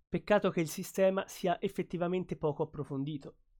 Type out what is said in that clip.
Peccato che il sistema sia effettivamente poco approfondito.